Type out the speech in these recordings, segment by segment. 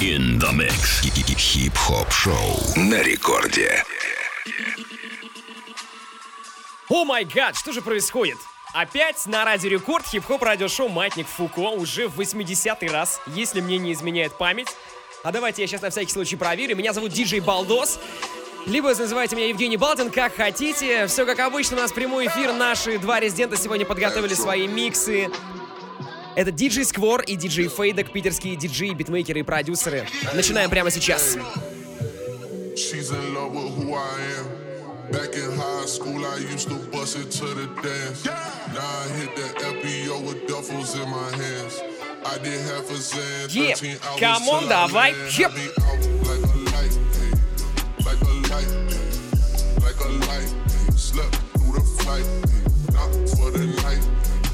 In the mix. Хип-хоп-шоу на рекорде. О май гад, что же происходит? Опять на Радио Рекорд хип-хоп радиошоу «Маятник Фуко» уже в 80-й раз, если мне не изменяет память. А давайте я сейчас на всякий случай проверю. Меня зовут Диджей Балдос. Либо называйте меня Евгений Балдин, как хотите. Все как обычно, у нас прямой эфир. Наши два резидента сегодня подготовили свои миксы. Это диджей Сквор и диджей Фейдек, питерские диджеи, битмейкеры и продюсеры. Начинаем прямо сейчас. Back in high school, I used to bust it to the dance. Now I hit the FBO with duffels in my hands. I did half a Zan, 13 hours. Come on, давай. Like a light, like a light, like a light. Slept through the flight, not for the night.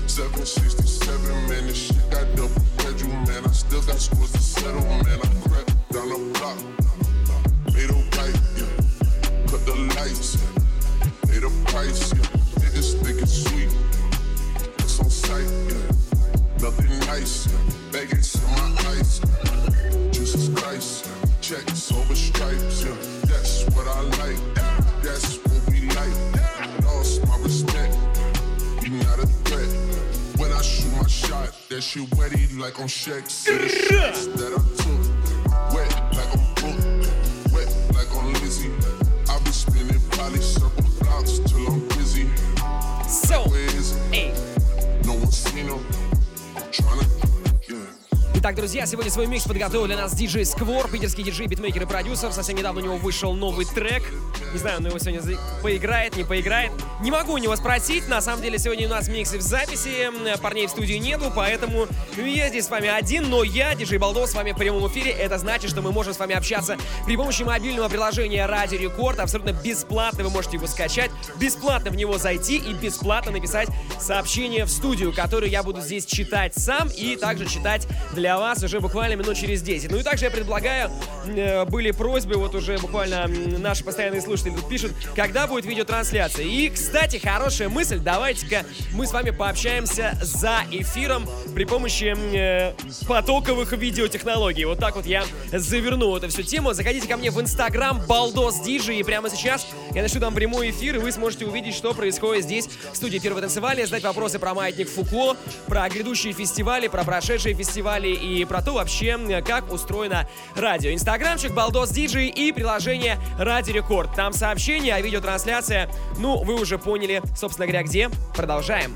767, man, this shit got double pedal, man. I still got scores to settle, man. I crept down the block, made a right, yeah. Cut the lights, yeah. Made a price, yeah. Niggas think it's sweet, it's on sight, yeah. Nothing nice, yeah. Baggage in my ice, Jesus Christ, yeah. Checks over stripes, yeah. That's what I like, that's what we like. Lost my respect, you not a threat. When I shoot my shot, that shit wetty like on Shaq. See the shots that I took, wet like I'm booked, wet like on Lizzie. I be spinning probably circle blocks till I'm busy. So, эй. No one seen them. Tryna, yeah. Итак, друзья, сегодня свой микс подготовил для нас диджей Сквор, питерский диджей, битмейкер и продюсер. Совсем недавно у него вышел новый трек. Не знаю, он его сегодня поиграет, не поиграет. Не могу у него спросить. На самом деле, сегодня у нас миксы в записи. Парней в студии нету, поэтому я здесь с вами один. Но я, диджей Балдос, с вами в прямом эфире. Это значит, что мы можем с вами общаться при помощи мобильного приложения Радио Рекорд. Абсолютно бесплатно вы можете его скачать, бесплатно в него зайти и бесплатно написать сообщение в студию, которое я буду здесь читать сам и также читать для вас уже буквально минут через 10. Ну и также я предлагаю, были просьбы, вот уже буквально наши постоянные слушатели тут пишут, когда будет видеотрансляция. И, кстати, хорошая мысль, давайте-ка мы с вами пообщаемся за эфиром при помощи потоковых видеотехнологий. Вот так вот я заверну эту всю тему. Заходите ко мне в Инстаграм Балдос Диджей, и прямо сейчас я начну там прямой эфир, и вы сможете увидеть, что происходит здесь в студии Первого танцевали, задать вопросы про Маятник Фуко, про грядущие фестивали, про прошедшие фестивали и про то вообще, как устроено радио. Инстаграмчик Балдос Диджей и приложение Радио Рекорд. Там сообщения, а видеотрансляция, ну, вы уже поняли, собственно говоря, где. Продолжаем.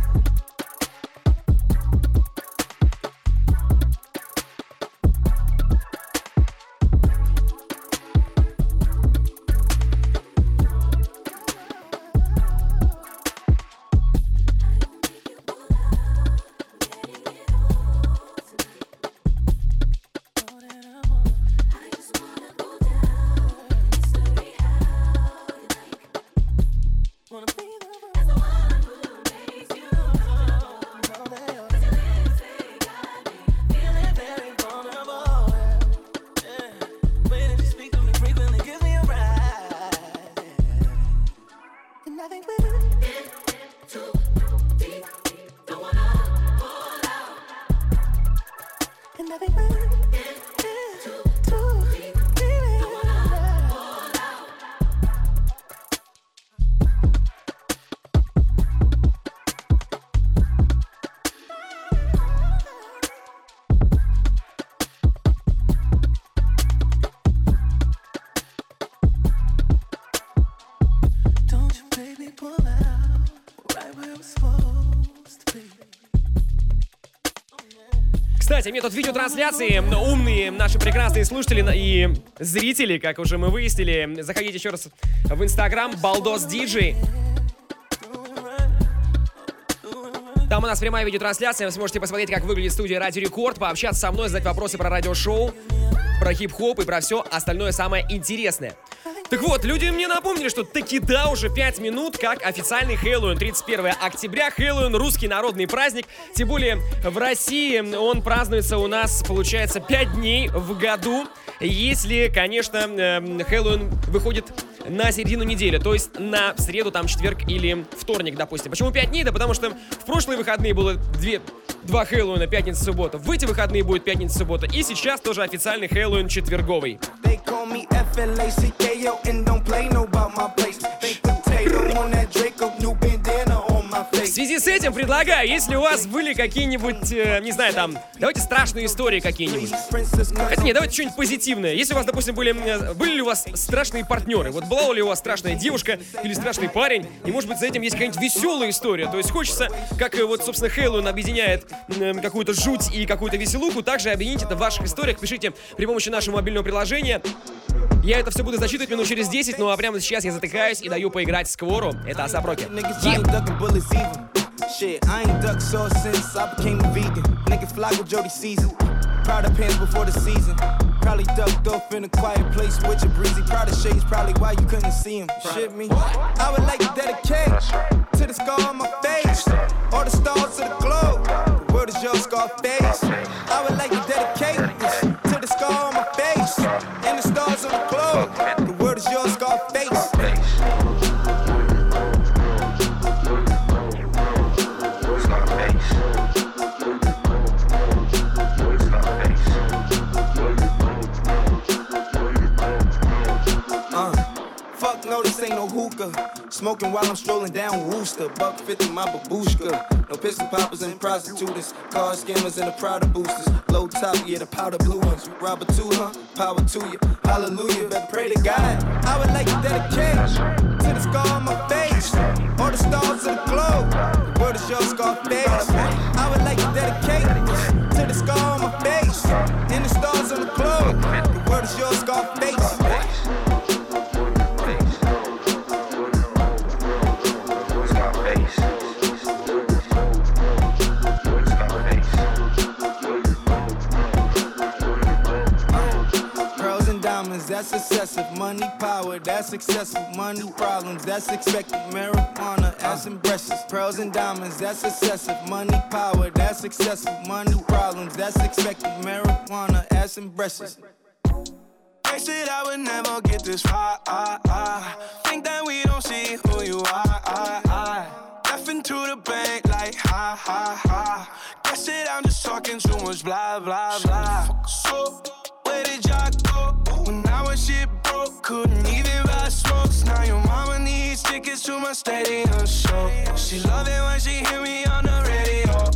Кстати, метод видеотрансляции, умные наши прекрасные слушатели и зрители, как уже мы выяснили, заходите еще раз в Инстаграм Балдос Диджей. Там у нас прямая видеотрансляция, вы сможете посмотреть, как выглядит студия Радио Рекорд, пообщаться со мной, задать вопросы про радиошоу, про хип-хоп и про все остальное самое интересное. Так вот, люди мне напомнили, что таки да, уже 5 минут, как официальный Хэллоуин, 31 октября, Хэллоуин, русский народный праздник, тем более в России он празднуется у нас, получается, 5 дней в году, если, конечно, Хэллоуин выходит на середину недели, то есть на среду, там, четверг или вторник, допустим. Почему 5 дней? Да потому что в прошлые выходные было два Хэллоуина, пятница, суббота. В эти выходные будет пятница, суббота. И сейчас тоже официальный Хэллоуин четверговый. В связи с этим предлагаю, если у вас были какие-нибудь, не знаю, там, давайте страшные истории какие-нибудь. Хотя нет, давайте что-нибудь позитивное. Если у вас, допустим, были ли у вас страшные партнеры? Вот была ли у вас страшная девушка или страшный парень? И, может быть, за этим есть какая-нибудь веселая история. То есть хочется, как вот, собственно, Хэллоуин объединяет какую-то жуть и какую-то веселуху, также объединить это в ваших историях. Пишите при помощи нашего мобильного приложения. Я это все буду зачитывать минут через 10, ну а прямо сейчас я затыкаюсь и даю поиграть Сквору. Это Асап Роки. Shit, I ain't ducked sauce since I became a vegan. Niggas flock with Jody Season. Proud of pants before the season. Probably ducked off in a quiet place with your breezy. Proud of shades, probably why you couldn't see him. Shit me. I would like to dedicate to the scar on my face. All the stars to the globe. The world is your Scarface. I would like to dedicate this to the scar on my face. And the stars on the globe. The world is your Scarface. No, this ain't no hookah. Smoking while I'm strolling down Wooster. $1.50 my babushka. No pistol poppers and prostitutes. Car scammers and the Prada boosters. Low top, yeah, the powder blue ones. Robber too, huh? Power to you. Hallelujah, better pray to God. I would like to dedicate to the scar on my face. All the stars of the globe. The world is your Scarface. I would like to dedicate to the scar on my face. And the stars on the globe. The world is your Scarface. That's excessive. Money, power, that's successful. Money, problems, that's expected. Marijuana, ass and breasts. Pearls and diamonds, that's excessive. Money, power, that's successful. Money, problems, that's expected. Marijuana, ass and breasts. They said I would never get this far. Think that we don't see who you are. Laughing to the bank like ha ha ha. Guess it, I'm just talking too much blah blah blah. So where did y'all go? When I was shit broke, couldn't even buy smokes. Now your mama needs tickets to my stadium show. She love it when she hear me on the radio.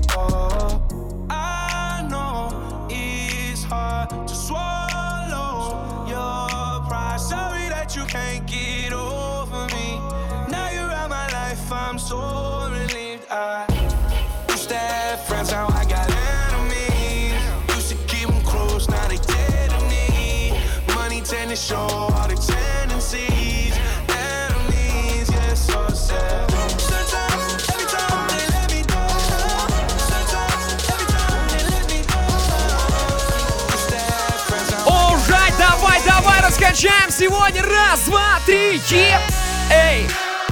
I know it's hard to swallow your pride. Sorry that you can't get over me. Now you're out my life, I'm so relieved. I used to have friends, now I got enemies. Used to keep them close, now they dead to me. Money tend to show all the tendencies. Enemies, yeah, so sad. Sometimes, every time they let me go. Sometimes, every time they let me go. Used to have friends, now Alright, давай, раскачаем сегодня. Раз, два, три, эй!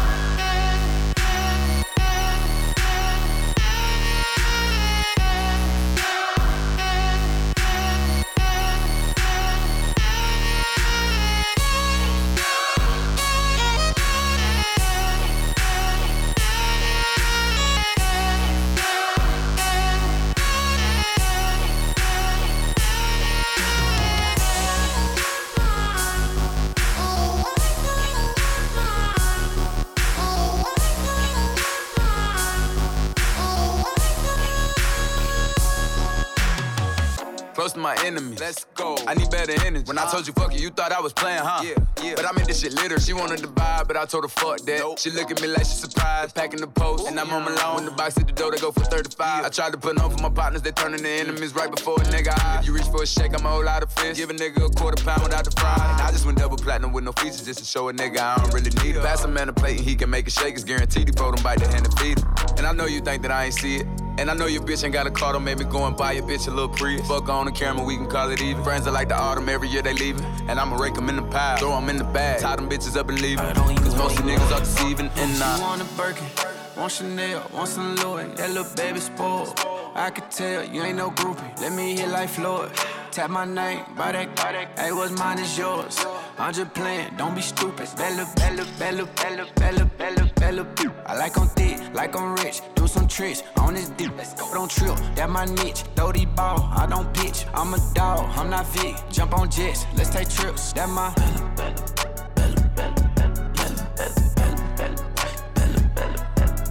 Close to my enemies. Let's go. I need better energy. When I told you fuck you thought I was playing, huh? Yeah. But I made this shit litter. She wanted to buy, but I told her fuck that. Nope. She look at me like she surprised. Packing the post, and I'm on my loan. When the box hit the door, they go for 35. I tried to put on for my partners, they turning to enemies right before a nigga eye. If you reach for a shake, I'ma hold out a fist. Give a nigga a £1/4 without the fry. And I just went double platinum with no features just to show a nigga I don't really need it. Pass a man a plate and he can make it shake. It's guaranteed he fold him bite the hand and feed him. And I know you think that I ain't see it. And I know your bitch ain't got a car, don't make me go and buy your bitch a little Prius. Fuck on the camera, we can call it even. Friends are like the autumn, every year they leaving. And I'ma rake them in the pile, throw them in the bag. Tie them bitches up and leave them. Cause most of the niggas are deceiving and She want a Birkin, want Chanel, want some Louis. That little baby spoiled. I could tell you ain't no groupie. Let me hit like Floyd. Tap my name, buy that, hey, what's mine is yours. I'm just playing, don't be stupid. Bella, bella, bella, bella, bella, bella, bella. I like I'm thick, like I'm rich. Do some tricks on this dick. Don't trip, that my niche. Throw these ball, I don't pitch. I'm a dog, I'm not Vic. Jump on jets, let's take trips. That my bella, bella, bella, bella, bella, bella, bella, bella, bella, bella,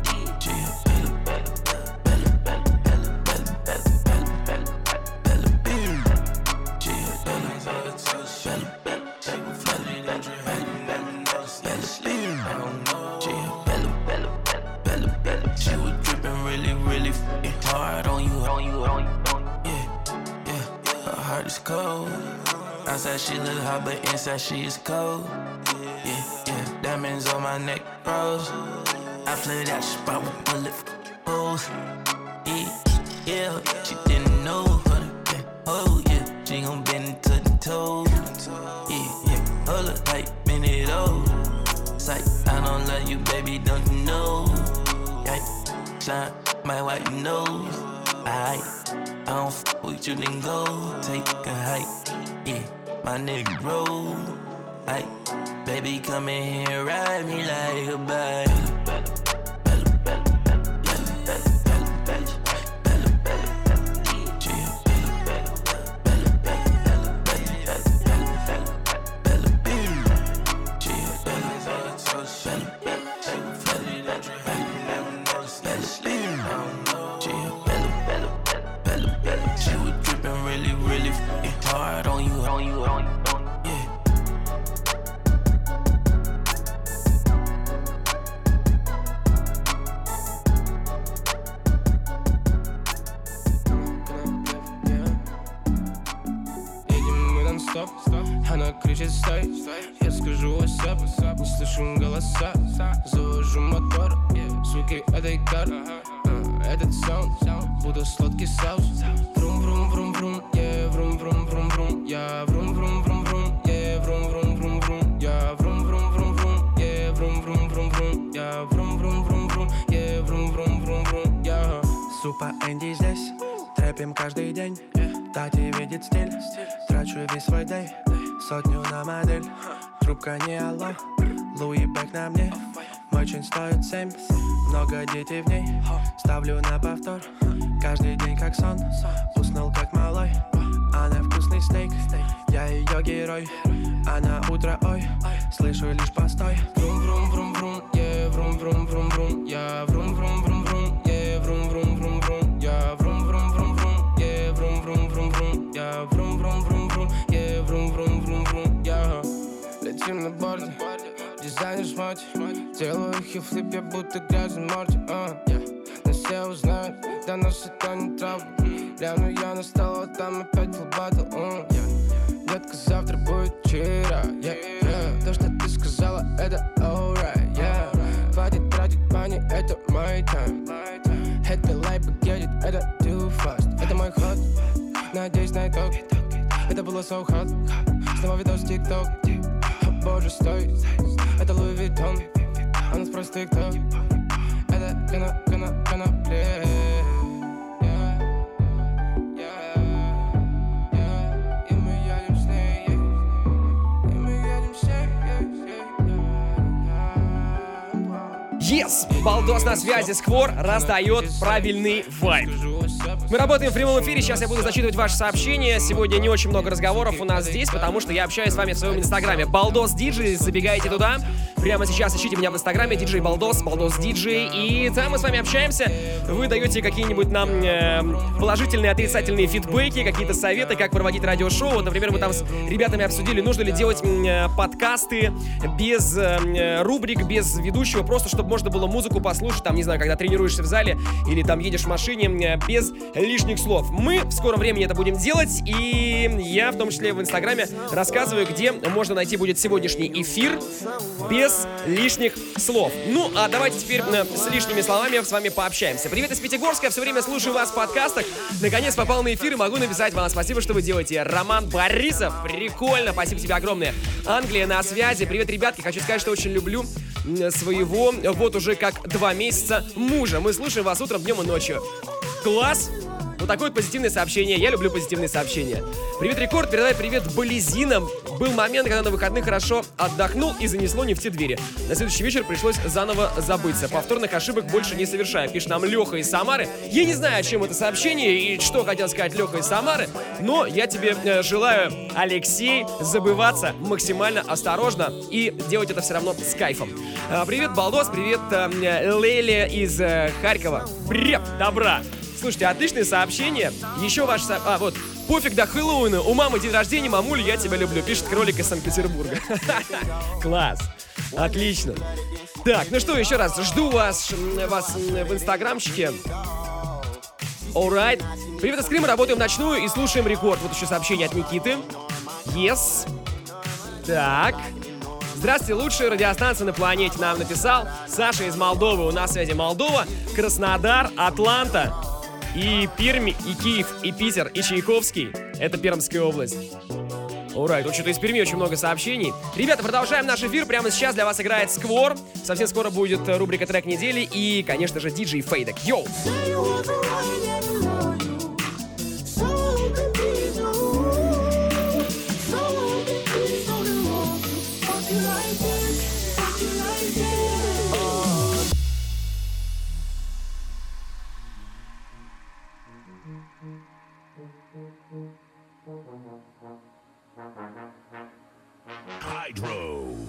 it's cold. Outside she look hot, but inside she is cold. Yeah, yeah, diamonds on my neck, bros. I flooded out the spot with bullet holes. Yeah, yeah, she didn't know. Oh yeah, she gon' bend to the toes. Yeah, yeah, hold up, like minute old. Sight, I don't love you, baby, don't you know? Yeah, shine my white nose. I don't f with you, then go take a hike. Yeah, my nigga roll. Like, baby, come in here, ride me like a bike. Она кричит стой, я скажу WhatsApp, не слышу голоса. Завожу мотор, звуки этой кар. Этот саунд, будто сладкий соус. Врум, врум, врум, врум, yeah, врум, врум, врум, врум, я врум, врум, врум, врум, yeah, врум, врум, врум, врум, я врум, врум, врум, врум, yeah, врум, врум, врум, врум, я врум, врум, врум, врум, yeah, врум, врум, врум, врум, я. Супа Энди здесь, трэпим каждый день. Тати видит стиль, трачу весь свой дэй. Сотню на модель, трубка не алло. Луи Бек на мне, мой чин стоит 7. Много детей в ней, ставлю на повтор. Каждый день как сон, уснул как малой. Она вкусный стейк, я ее герой. Она утро, ой, слышу лишь постой. Врум, врум, врум, врум, yeah, врум, врум, врум, врум, я врум, врум, врум, врум, yeah, врум, врум, врум, врум, я врум, врум, врум, врум, yeah, врум, врум, врум, врум, я врум, врум, врум, врум, yeah, врум, врум, врум, врум, я. Летим на борде, дизайнер шмоти, делаю хит-флип, я будто грязный морти, но все узнают, до нас это не трапа. Гляну я на стол, а там опять фулбаттл, Детка, завтра будет вчера, То, что ты сказала, это alright, Хватит тратить money, это мой time. Happy life, get it, это too fast. Это мой ход, надеюсь на итог. Это было so hot, снова видос в TikTok. О боже, стой, это Louis Vuitton. Она спросит, кто? Это конопля. Yes! Балдос на связи, Сквор раздает правильный вайб. Мы работаем в прямом эфире, сейчас я буду зачитывать ваши сообщения. Сегодня не очень много разговоров у нас здесь, потому что я общаюсь с вами в своем инстаграме. Балдос Диджей, забегайте туда. Прямо сейчас ищите меня в инстаграме, диджей Балдос, Балдос Диджей. И там мы с вами общаемся. Вы даете какие-нибудь нам положительные, отрицательные фидбэки, какие-то советы, как проводить радиошоу. Вот, например, мы там с ребятами обсудили, нужно ли делать подкасты без рубрик, без ведущего, просто чтобы можно было музыку послушать, там, не знаю, когда тренируешься в зале или там едешь в машине, без лишних слов. Мы в скором времени это будем делать, и я в том числе в инстаграме рассказываю, где можно найти будет сегодняшний эфир без лишних слов. Ну, а давайте теперь с лишними словами с вами пообщаемся. Привет из Пятигорска, все время слушаю вас в подкастах. Наконец попал на эфир и могу написать вам спасибо, что вы делаете. Роман Борисов, прикольно, спасибо тебе огромное. Англия на связи, привет, ребятки, хочу сказать, что очень люблю своего, вот уже как 2 месяца мужа. Мы слушаем вас утром, днем и ночью. Класс! Вот такое вот позитивное сообщение. Я люблю позитивные сообщения. Привет, Рекорд, передай привет Болезинам. Был момент, когда на выходных хорошо отдохнул и занесло не в те двери. На следующий вечер пришлось заново забыться. Повторных ошибок больше не совершаю. Пишет нам Леха из Самары. Я не знаю, о чем это сообщение и что хотел сказать Леха из Самары, но я тебе желаю, Алексей, забываться максимально осторожно и делать это все равно с кайфом. Привет, Балдос, привет, Леля из Харькова. Привет, добра. Слушайте, отличное сообщение. Еще ваше... вот. Пофиг до Хэллоуина. У мамы день рождения, мамуль, я тебя люблю. Пишет кролик из Санкт-Петербурга. Класс. Отлично. Так, ну что, еще раз. Жду вас в инстаграмчике. Alright. Привет из Крыма, работаем ночную и слушаем Рекорд. Вот еще сообщение от Никиты. Yes. Так. Здравствуйте, лучшая радиостанция на планете нам написал Саша из Молдовы. У нас связи Молдова, Краснодар, Атланта, и Пермь, и Киев, и Питер, и Чайковский. Это Пермская область. Ура, тут что-то из Перми очень много сообщений. Ребята, продолжаем наш эфир. Прямо сейчас для вас играет Сквор. Совсем скоро будет рубрика «Трек недели» и, конечно же, диджей Фейдек. Йоу! Hydro.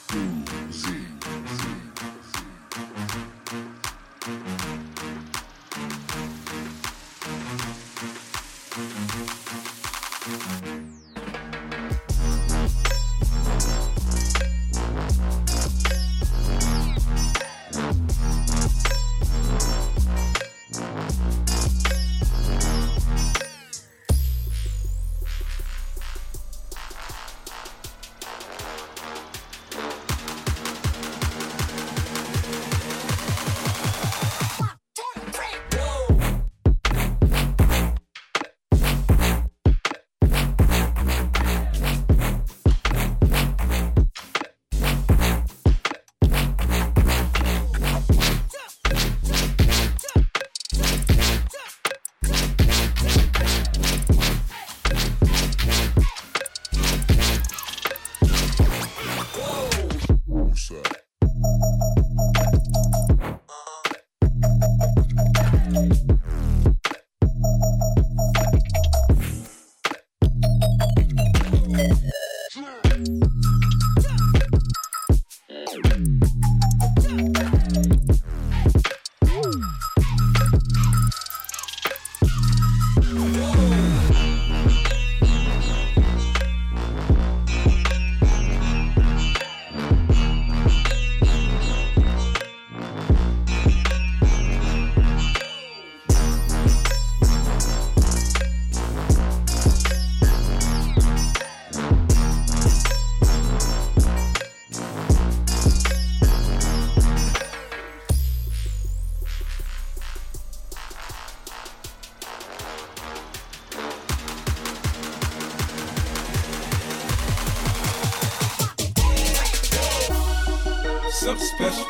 Something special,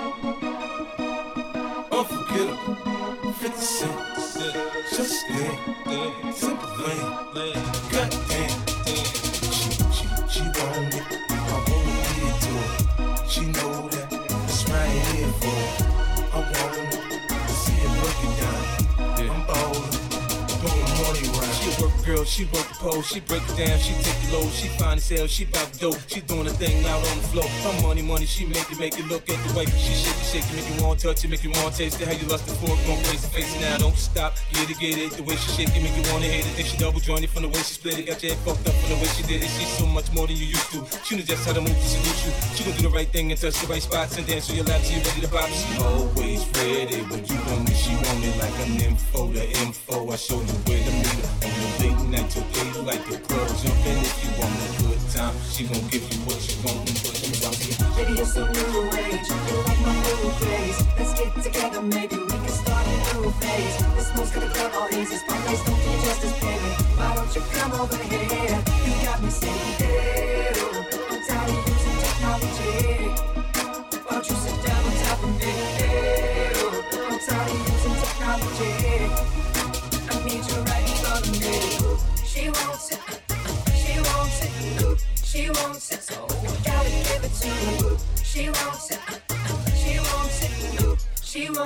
unforgettable, 50 Cent, just stay, simple lane, goddamn, she want it, I wanna get to it, she know that, it's right here for it, I want it, see it working down, I'm ballin', throwing money round. She a work girl, she work the pole, she break it down, she take it low, she fine as hell, she bout dope, she doing a thing out on the floor. Her money, she make it look at the way she shake it, make you want to touch it, make you want to taste it. How you lust it for it, gon' face it now, don't stop, get it, the way she shake it, make you wanna hit it. Then she double jointed from the way she split it, got your head fucked up from the way she did it. She's so much more than you used to. She knows just how to move to seduce you. She gon' do the right thing and touch the right spots and dance on your lap till you ready to pop. She always ready when you want me, she want it like an info. The info, I show you where to meet her on the late night till daylight. The club jumping if you want a good time. She gon' give you what you want and put you down. Baby, it's a new age, you like my new craze. Let's get together, maybe we can start a new phase. This move's gonna club all easy, spotlights don't do justice, baby. Why don't you come over here? You got me saying, ew, I'm tired of using technology. Why don't you sit down on top of me? Ew, I'm tired of using technology. I need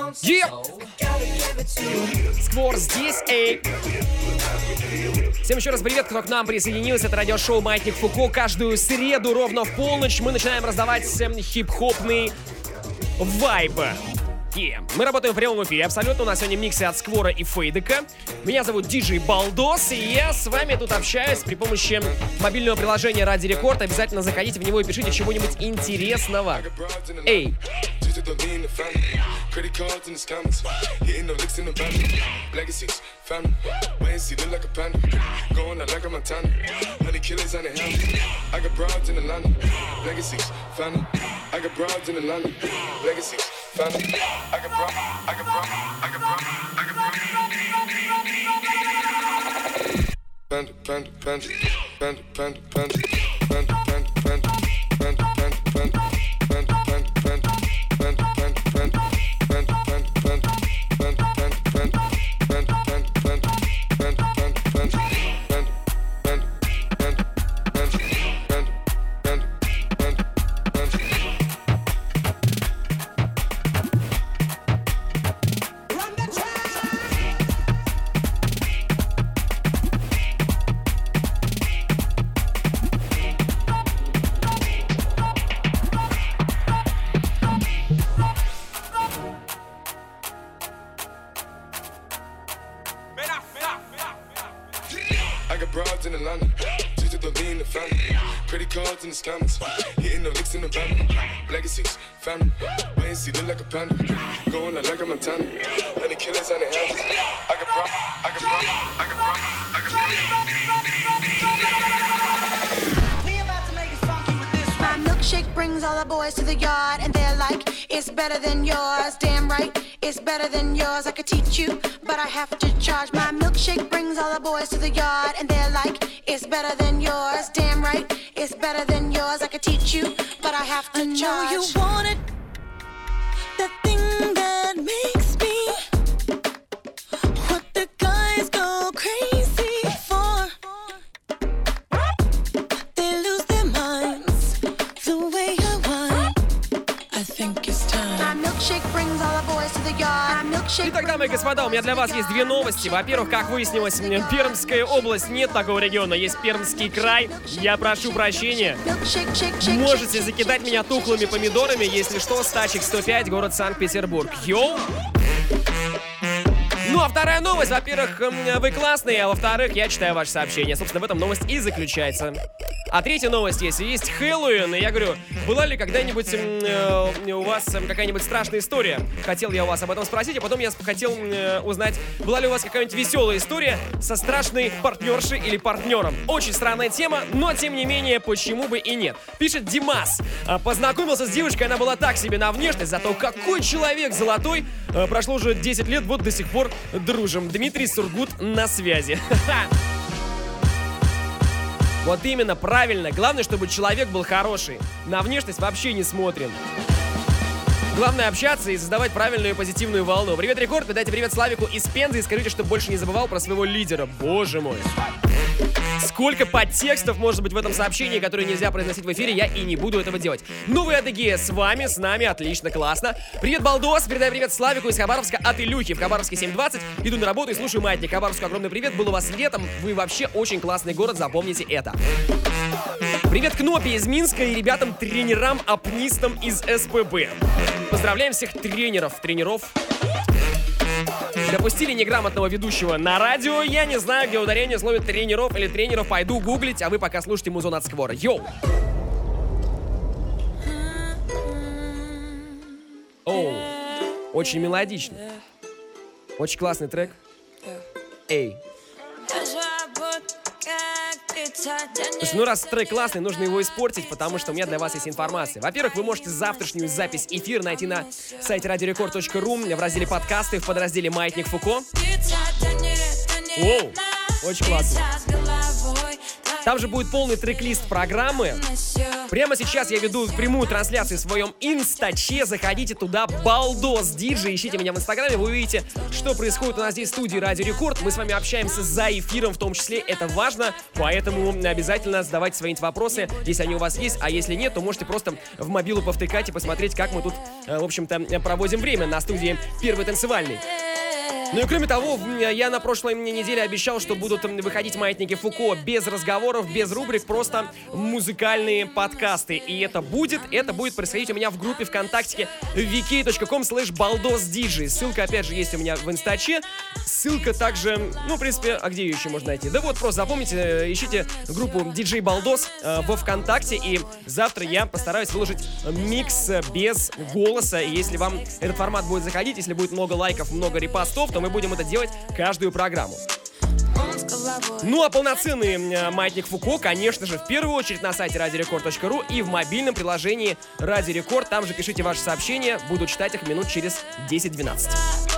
Сквор здесь, эй. Всем еще раз привет, кто к нам присоединился. Это радиошоу «Маятник Фуко». Каждую среду ровно в полночь мы начинаем раздавать хип-хопный вайб. Мы работаем в прямом эфире абсолютно. У нас сегодня миксы от Сквора и Фейдека. Меня зовут Диджей Балдос, и я с вами тут общаюсь при помощи мобильного приложения Ради Рекорд. Обязательно заходите в него и пишите чего-нибудь интересного. Эй! Credit cards in the scammers, hitting the licks in the van. Legacies, family, wait and see, look like a panda. Going out like a Montana, honey killers on the hand. I got broads in Atlanta, legacies, family. I got broads in Atlanta, legacies, family. I got broads, I got broads, I got broads, I got broads. Panda, panda, panda, panda, panda, panda, panda, panda, panda, panda, panda, panda. Scammers, hitting the licks in the van. Legacies, family, wait and see, look like a panda. Going out like a Montana, honey killers on the hands. I got problems, I got problems, I got problems, I got problems. We about to make it funky with this one. My milkshake brings all the boys to the yard, and they're like, it's better than yours. Damn right, it's better than yours. I could teach you, but I have to charge. My milkshake brings all the boys to the yard, and they're like, it's better than yours. Damn right, it's better than yours. I could teach you, but I have to charge. I know you want it, the thing that makes me what the guys go crazy for. They lose their minds the way I want. I think it's time. My milkshake brings all the boys to the yard. Итак, дамы и господа, у меня для вас есть две новости. Во-первых, как выяснилось, Пермская область, нет такого региона, есть Пермский край. Я прошу прощения. Можете закидать меня тухлыми помидорами, если что, Стачек 105, город Санкт-Петербург. Йоу! Ну, а вторая новость, во-первых, вы классные, а во-вторых, я читаю ваши сообщения. Собственно, в этом новость и заключается. А третья новость есть Хэллоуин, и я говорю, была ли когда-нибудь у вас какая-нибудь страшная история? Хотел я у вас об этом спросить, а потом я хотел узнать, была ли у вас какая-нибудь веселая история со страшной партнершей или партнером. Очень странная тема, но тем не менее, почему бы и нет. Пишет Димас. Познакомился с девушкой, она была так себе на внешность, зато какой человек золотой. Прошло уже 10 лет, вот до сих пор дружим. Дмитрий Сургут на связи. Вот именно, правильно. Главное, чтобы человек был хороший. На внешность вообще не смотрим. Главное общаться и создавать правильную и позитивную волну. Привет, Рекорд, передайте привет Славику из Пензы и скажите, чтобы больше не забывал про своего лидера. Боже мой. Сколько подтекстов может быть в этом сообщении, которые нельзя произносить в эфире, я и не буду этого делать. Новые Адыгея с вами, с нами, отлично, классно. Привет, Балдос, передай привет Славику из Хабаровска от Илюхи. В Хабаровске 7:20, иду на работу и слушаю Маятник. Хабаровску огромный привет, был у вас летом, вы вообще очень классный город, запомните это. Привет Кнопе из Минска и ребятам-тренерам, апнистам из СПБ. Поздравляем всех тренеров. Допустили неграмотного ведущего на радио. Я не знаю, где ударение в слове тренеров или тренеров. Пойду гуглить, а вы пока слушайте музон от Сквора. Йоу! Оу, очень мелодично. Очень классный трек. Эй. Слушай, ну раз трек классный, нужно его испортить, потому что у меня для вас есть информация. Во-первых, вы можете завтрашнюю запись эфира найти на сайте radiorecord.ru в разделе подкасты в подразделе «Маятник Фуко». Оу, очень классно. Там же будет полный трек-лист программы. Прямо сейчас я веду прямую трансляцию в своем инстаче. Заходите туда, Балдос Диджей. Ищите меня в инстаграме, вы увидите, что происходит у нас здесь в студии Радио Рекорд. Мы с вами общаемся за эфиром в том числе. Это важно, поэтому обязательно задавайте свои вопросы, если они у вас есть. А если нет, то можете просто в мобилу повтыкать и посмотреть, как мы тут, в общем-то, проводим время на студии Первый танцевальный. Ну и кроме того, я на прошлой неделе обещал, что будут выходить маятники Фуко без разговоров, без рубрик, просто музыкальные подкасты. И это будет происходить у меня в группе ВКонтакте vk.com/baldosdj. Ссылка, опять же, есть у меня в инстаче. Ссылка также, в принципе, а где ее еще можно найти? Да вот, просто запомните, ищите группу DJ Baldos во ВКонтакте. И завтра я постараюсь выложить микс без голоса. И если вам этот формат будет заходить, если будет много лайков, много репостов, то мы будем это делать каждую программу. Ну а полноценный маятник Фуко, конечно же, в первую очередь на сайте radiorecord.ru и в мобильном приложении Радио Рекорд. Там же пишите ваши сообщения, буду читать их минут через 10-12.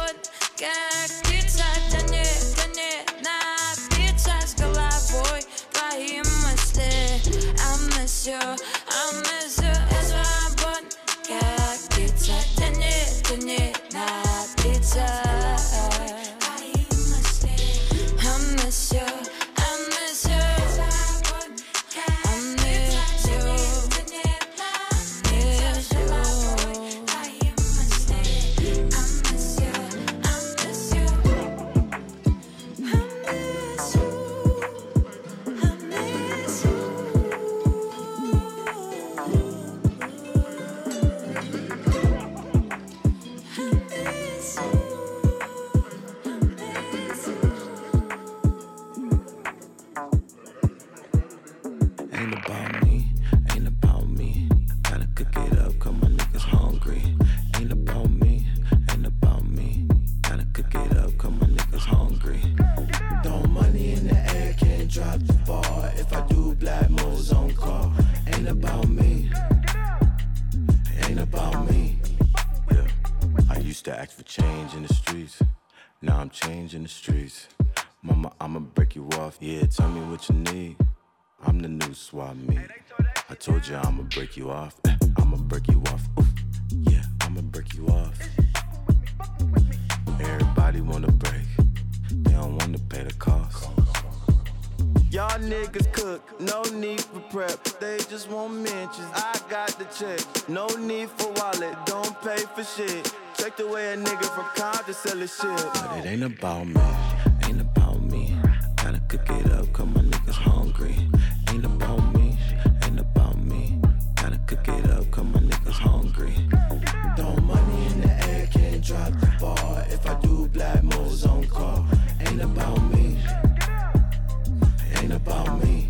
In the streets, mama, I'ma break you off. Yeah, tell me what you need. I'm the new swap meet. I told you I'ma break you off. I'ma break you off. Oof. Yeah, I'ma break you off. Everybody wanna break, they don't wanna pay the cost. Y'all niggas cook, no need for prep. They just want mentions. I got the check, no need for wallet. Don't pay for shit. Check the way a nigga from Compton sell his shit. But it ain't about me, ain't about me. Gotta cook it up, cause my niggas hungry. Ain't about me, ain't about me. Gotta cook it up, cause my niggas hungry. Throw money in the air, can't drop the ball. If I do black moves on call. Ain't about me, ain't about me.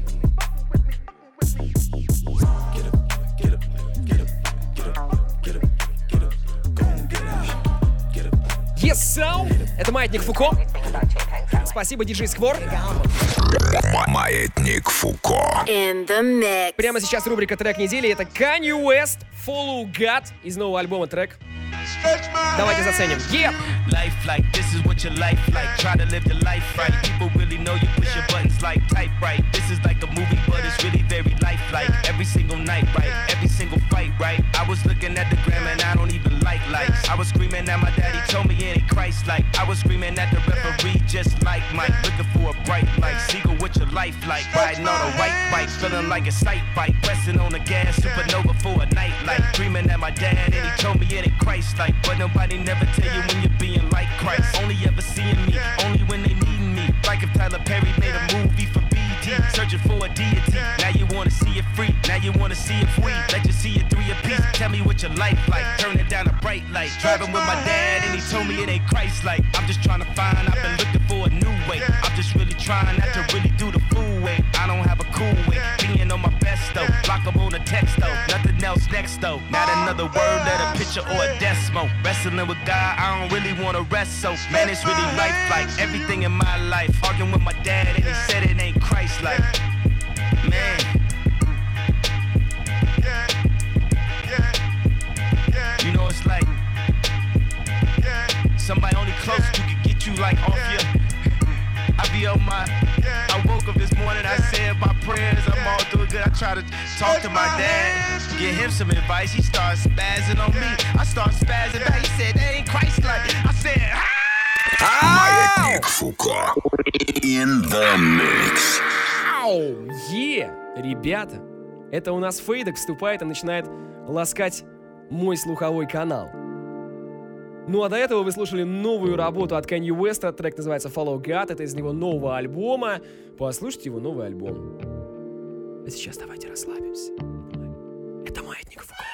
Get up, get up, get up, get up, get up, get up. Go and get out, get up. Yes, so. Это Маятник Фуко. Спасибо, диджей Сквор. Маятник Фуко. Прямо сейчас рубрика «Трек недели». Это Kanye West, Follow God из нового альбома трек. Давайте заценим. Yeah! Life like this is what your life like. Try to live your life right. People really know you push your buttons like type right. This is like a movie, but it's really very lifelike. Every single night, right? Every single fight, right? I was looking at the gram and I don't even like likes. I was screaming at my daddy, told me it ain't Christ-like. I was screaming at the referee, just like Mike. Looking for a bright light. Seagull, what your life like? Riding on a white bike, feeling like a sight bike. Pressing on the gas, supernova for a night light. Dreaming at my dad and he told me it ain't Christ-like. But nobody never tell you when you're being like Christ. Only ever seeing me, only when they need me. Like if Tyler Perry made a movie for BD, searching for a deity. Now you wanna see it free, now you wanna see it free. Let you see it 3 apiece. Tell me what your life like. Turn it down a bright light. Driving with my dad and he told me it ain't Christ-like. I'm just trying to find, I've been looking for a new way. I'm just really trying not to really do the fool way. I don't have a cool way, being on my best though. Block them on a text though, nothing else next though. Not another word, let a picture or a decimal. Wrestling with God, I don't really wanna rest so. Man, it's really lifelike, everything in my life. Arguing with my dad and he said it ain't Christ-like. Man. You know it's like somebody only close to can get you like off your. I be on my. I woke up this morning, I said my prayer try to talk to my dad, get him some advice. He starts spazzing on me. I start spazzing back. He said, that ain't Christ-like. I said, Маятник Фуко. In the mix. Ребята, это у нас Фейдек вступает и начинает ласкать мой слуховой канал. Ну а до этого вы слушали новую работу от Kanye West. Трек называется Follow God. Это из него нового альбома. Послушайте его новый альбом. А сейчас давайте расслабимся. Это Маятник Фуко.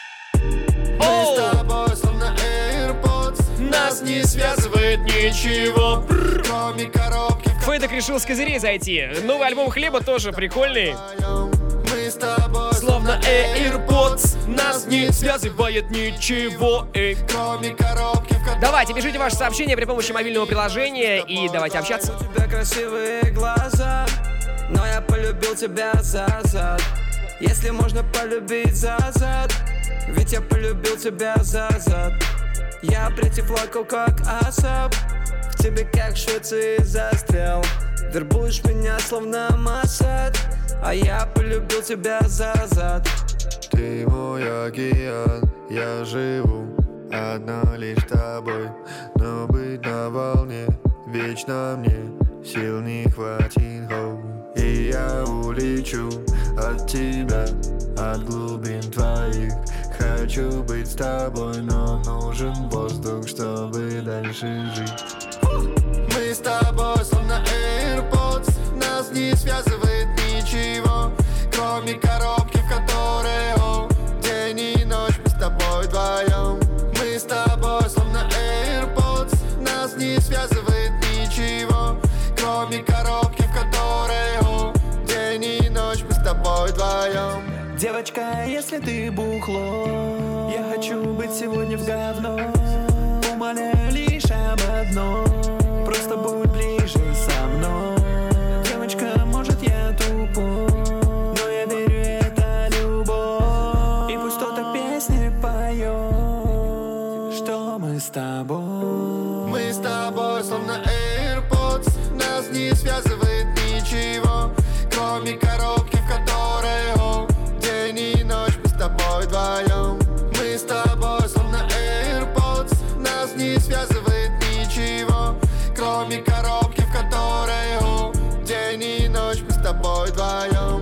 Мы с тобой словно AirPods. Нас не связывает ничего, кроме коробки. Фейдек решил с козырей зайти. Новый альбом Хлеба тоже прикольный. Мы с тобой словно AirPods. Нас не связывает ничего, кроме коробки. Давайте, пишите ваши сообщения при помощи мобильного приложения и давайте общаться. У тебя красивые глаза, но я полюбил тебя за зад. Если можно полюбить за зад, ведь я полюбил тебя за зад. Я притеплакал как асап, в тебе как в Швеции застрял. Вербуешь меня словно Масад, а я полюбил тебя за зад. Ты мой океан, я живу одна лишь тобой. Но быть на волне вечно мне сил не хватит, и я улечу от тебя, от глубин твоих. Хочу быть с тобой, но нужен воздух, чтобы дальше жить. Мы с тобой словно AirPods. Нас не связывает ничего, кроме коробки, в которой день и ночь мы с тобой вдвоем. Мы с тобой словно AirPods. Нас не связывает ничего, кроме коробки, в которой день и ночь мы с тобой вдвоем. Девочка, если ты бухло, я хочу быть сегодня в говно. Умоляю лишь об одном, просто будь ближе со мной. Девочка, может я тупой, но я верю, это любовь. И пусть кто-то песни поет, что мы с тобой. Мы с тобой словно AirPods. Нас не связывает ничего, кроме коробки, в которой день и ночь мы с тобой вдвоем. Мы с тобой словно AirPods. Нас не связывает ничего, кроме коробки, в которой день и ночь мы с тобой вдвоем.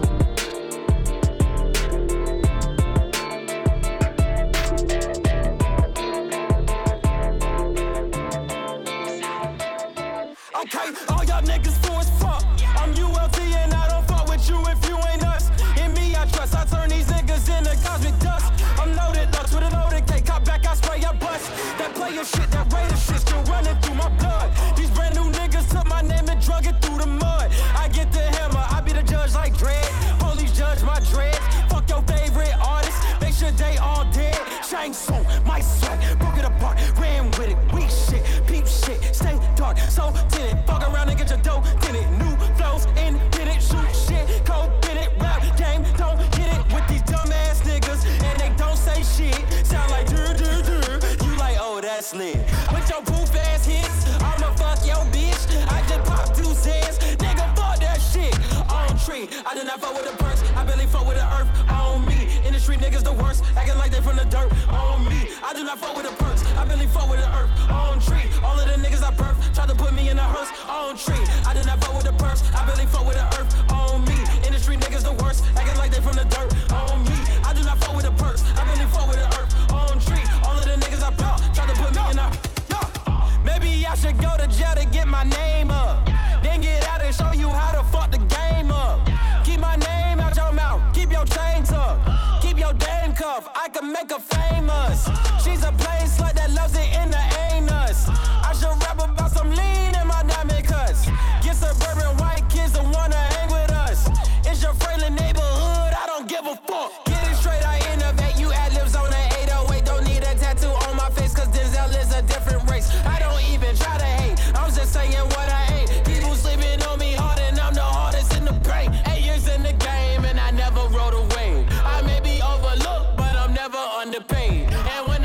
Okay, all y'all niggas fool as fuck. I'm ULT and I don't fuck with you if you ain't us. In me I trust, I turn these niggas into cosmic dust. I'm loaded Lux with an loaded K, cop back, I spray, I bust. That player shit, that Raider shit still running through my blood. These brand new niggas took my name and drug it through the mud. I get the hammer, I be the judge like Dredd. Police judge my dreads. Fuck your favorite artist, make sure they all dead. Shang Tsung, my sweat, broke it apart, ran with it, weak shit, peep shit, stay dark, so tinted. Fuck around and get your dough, did it. New flows, in, did it, shoot shit, cold, did it, rap game, don't get it with these dumbass niggas, and they don't say shit. Sound like you like, oh, that's lit. With your poof ass hits, I'ma fuck your bitch. I just pop 2 cents, nigga, fuck that shit. On tree, I did not fuck with the perks, I barely fuck with the earth. On me, in the street niggas the worst, acting like they from the dirt. On me, I do not fuck with the perks, I barely fuck with the earth. On tree, all of the niggas I perf, try to put me in a hearse. On tree, I did not fuck with the perks, I barely fuck with the earth. On me, in the street niggas the worst, acting like they from the dirt. On me, I do not fuck with the perks, I barely fuck with the earth. On tree, all of the niggas I perf, try to put me in a maybe I should go to jail to get my name up, then get out and show you how to fuck the game up. Keep my name out your mouth, keep your chain tucked, keep your dame cuff, I can make her famous. She's a plain slut that loves it in the anus. I should rap about some lean in my diamond cuts. Get suburban white kids that wanna hang with us. It's your friendly neighborhood, I don't give a fuck. Get it straight, I innovate, you ad-libs on the 808. Don't need a tattoo on my face, cause Denzel is a different race. I don't even try to hate, I'm just saying what I ain't. People sleeping on me hard and I'm the hardest in the brain. 8 years in the game and I never rode a wave. I may be overlooked, but I'm never underpaid. And when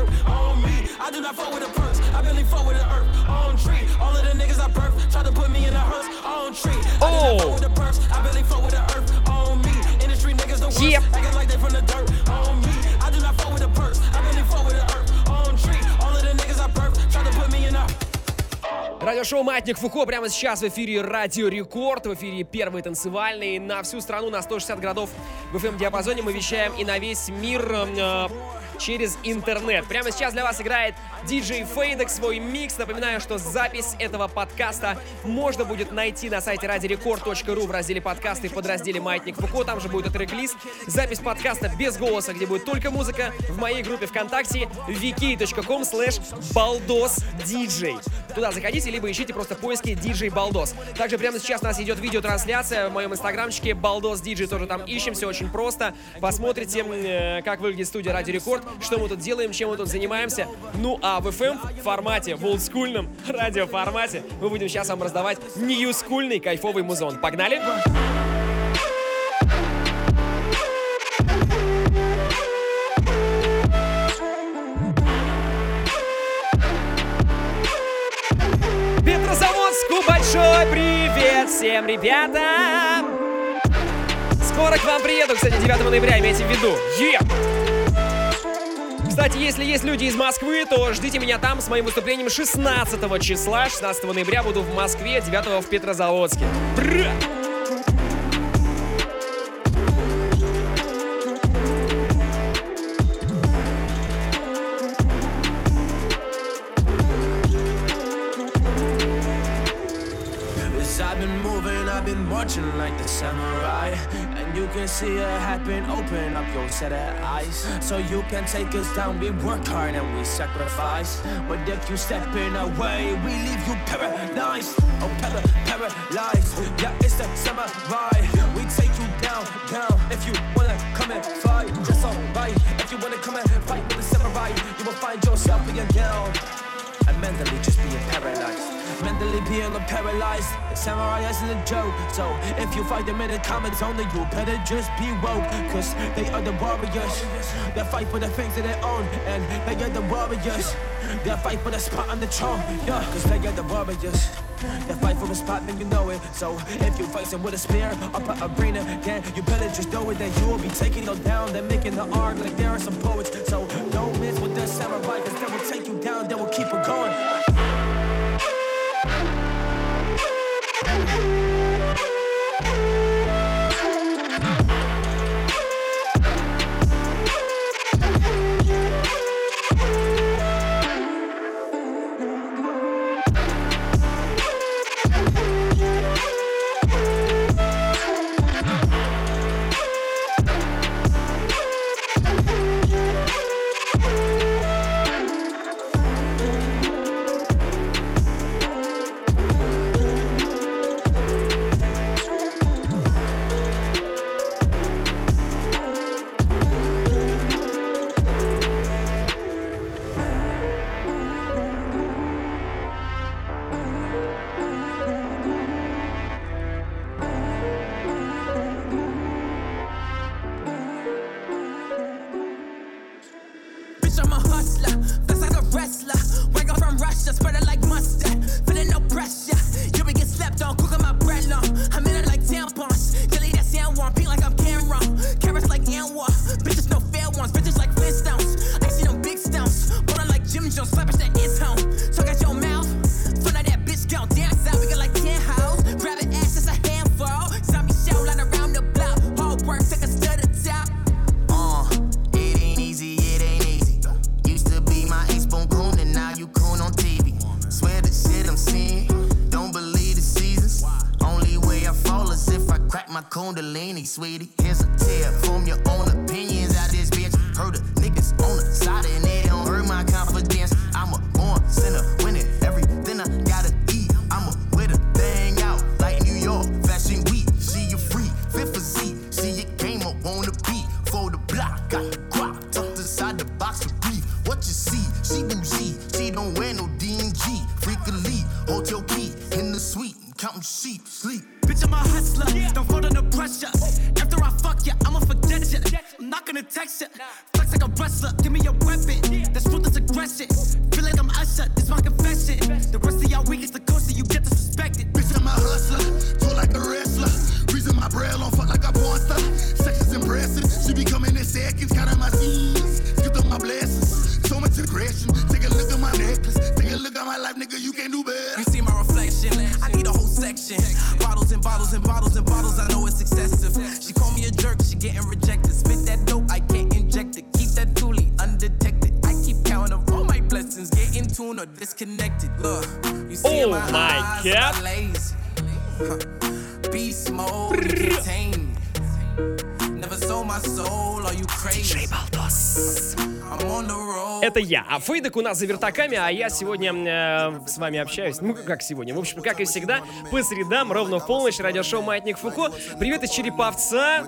dirt on me. I do not fuck with the perks. I barely fuck with the earth on tree. All of the niggas I birth try to put me in a hearse on tree. I do not fuck with the perks. I barely fuck with the earth on me. Industry niggas the worst. Acting like they from the dirt on me. I do not fuck with the perks. I barely fuck with the earth on tree. All of the niggas I birth try to put me in a. Радиошоу «Маятник Фуко» прямо сейчас в эфире Радио Рекорд, в эфире первый танцевальный. На всю страну, на 160 городов в FM-диапазоне мы вещаем и на весь мир через интернет. Прямо сейчас для вас играет DJ Фейдек свой микс. Напоминаю, что запись этого подкаста можно будет найти на сайте radiorecord.ru в разделе подкасты в подразделе «Маятник Фуко». Там же будет трек-лист. Запись подкаста без голоса, где будет только музыка, в моей группе ВКонтакте vk.com/baldosdj. Туда заходите, либо ищите просто в поиске DJ Baldos. Также прямо сейчас у нас идет видеотрансляция в моем инстаграмчике Baldos DJ, тоже там ищем, все очень просто. Посмотрите, как выглядит студия Радио Рекорд, что мы тут делаем, чем мы тут занимаемся. Ну а в FM формате, в олдскульном радиоформате мы будем сейчас вам раздавать ньюскульный кайфовый музон. Погнали! Петрозаводску большой привет всем ребятам! Скоро к вам приеду, кстати, 9 ноября, имейте в виду. Кстати, если есть люди из Москвы, то ждите меня там с моим выступлением 16 числа. 16 ноября буду в Москве, 9 в Петрозаводске. Бра! I've been watching like the samurai, and you can see it happen. Open up your set of eyes, so you can take us down. We work hard and we sacrifice, but if you step in our way, we leave you paralyzed. Oh, paralyzed. Yeah, it's the samurai. We take you down, down. If you wanna come and fight, that's alright. If you wanna come and fight with the samurai, you will find yourself being down and mentally just being paralyzed. Mentally being paralyzed. The samurai isn't a joke. So if you fight them in the comments only, you better just be woke. Cause they are the warriors. They fight for the things that they own. And they are the warriors. They fight for the spot on the throne. Yeah, cause they are the warriors. They fight for a spot, then you know it. So if you fight them with a spear up an arena, then you better just know it. That you will be taking them down. They're making the art like there are some poets. So don't miss with the samurai, cause they will take you down. They will keep it going. Kundalini, sweetie. Here's a tip from your own opinions out this bitch. Heard the niggas on the side and they don't hurt my confidence. I'm a born sinner, winning everything I gotta eat. I'm a with a thing out like New York Fashion Week. See you free, fit for Z. See you came up on the beat for the block. Got the guap tucked inside the box of beef. What you see? She bougie. She don't wear no D&G. Freak elite, hotel key in the suite, counting sheep, sleep. Bitch, I'm a hustler, don't fold under pressure. After I fuck ya, I'ma forget ya. I'm not gonna text ya. Flex like a wrestler, give me a weapon. That's ruthless aggression. Feel like I'm Usher, this my confession. The rest of y'all weak is the closer you get disrespected. Bitch, I'm a hustler, told like a wrestler. Reason my bread on fuck like a porn star. Sex is impressive, she be coming in seconds. Counting my scenes, skipped up my blessings. So much aggression, take a look at my necklace. Take a look at my life, nigga, you can't do better. You see my reflection, I need a whole section. Bottles and bottles and bottles and bottles, I know it's excessive. She call me a jerk, she getting rejected. Spit that dope, I can't inject it. Keep that toolie undetected. I keep counting up all my blessings. Get in tune or disconnected. Look, you see in my eyes, I'm not lazy. Beast mode, you can't tame me. Never sold my soul, are you crazy? I'm on the road. Это я. А Фейдек у нас за вертаками, а я сегодня с вами общаюсь. Ну, как сегодня? В общем, как и всегда, по средам, ровно в полночь, радиошоу «Маятник Фуко». Привет из Череповца,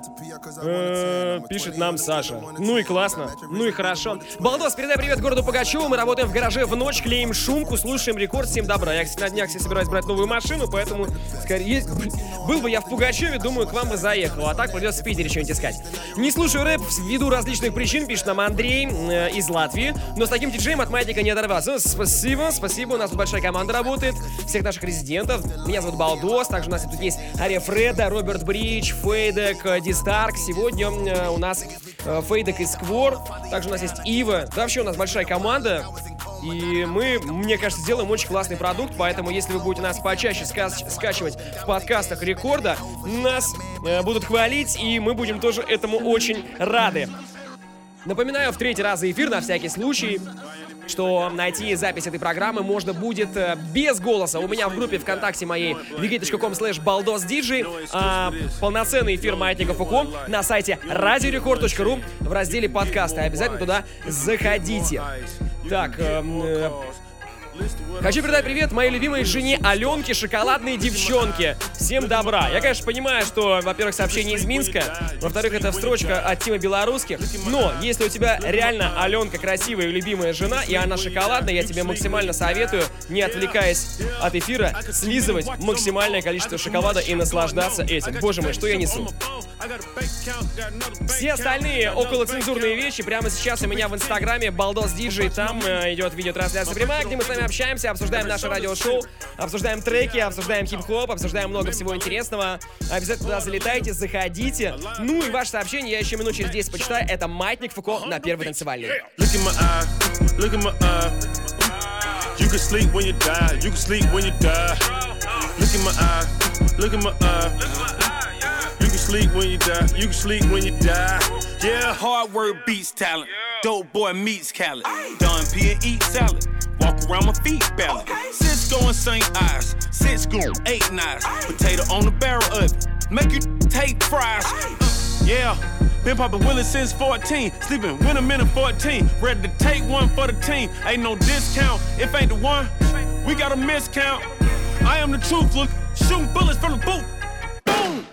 пишет нам Саша. Ну и классно, ну и хорошо. Балдос, передай привет городу Пугачеву. Мы работаем в гараже в ночь, клеим шумку, слушаем рекорд, всем добра. Я, кстати, на днях себе собираюсь брать новую машину, поэтому, скорее, был бы я в Пугачеве, думаю, к вам бы заехал. А так придется в Питере что-нибудь искать. Не слушаю рэп ввиду различных причин, пишет нам Андрей из Латвии. Но с таким диджеем от Маятника не оторваться. Ну, спасибо, у нас тут большая команда работает. Всех наших резидентов. Меня зовут Балдос. Также у нас тут есть Ария Фреда, Роберт Бридж, Фейдек, Дистарк. Сегодня у нас Фейдек и Сквор. Также у нас есть Ива. Да, вообще у нас большая команда. И мы, мне кажется, сделаем очень классный продукт. Поэтому, если вы будете нас почаще скачивать в подкастах Рекорда, нас будут хвалить, и мы будем тоже этому очень рады. Напоминаю в третий раз за эфир, на всякий случай, что найти запись этой программы можно будет без голоса у меня в группе ВКонтакте моей wiki.com/baldosdj, а полноценный эфир Маятника Фуко на сайте radiorecord.ru в разделе подкасты. Обязательно туда заходите. Так, хочу передать привет моей любимой жене Аленке, шоколадной девчонке. Всем добра. Я, конечно, понимаю, что, во-первых, сообщение из Минска, во-вторых, это строчка от Тима Белорусских. Но если у тебя реально Аленка красивая и любимая жена, и она шоколадная, я тебе максимально советую, не отвлекаясь от эфира, слизывать максимальное количество шоколада и наслаждаться этим. Боже мой, что я несу. Все остальные околоцензурные вещи прямо сейчас у меня в инстаграме Балдос Диджей. Там идет видеотрансляция прямая, где мы с вами общаемся, обсуждаем наше радиошоу, обсуждаем треки, обсуждаем хип-хоп, обсуждаем много всего интересного. Обязательно туда залетайте, заходите. Ну и ваше сообщение я еще минут через 10 почитаю. Это Маятник Фуко на Первой танцевальной. You can sleep when you die, you can sleep when you die. Look in my eye, look in my eye. You can sleep when you die, you can sleep when you die. Yeah, hard work beats talent. Dope boy meets Khaled. Done P and eat salad. Walk around my feet ballot. Cisco and St. Ives. Cisco, 8 knives. Potato on the barrel of it. Make you take fries. Yeah. Been poppin' Willis since 14. Sleeping with a minute 14. Ready to take one for the team. Ain't no discount. If ain't the one, we got a miscount. I am the truth. Look, shooting bullets from the boot. Boom.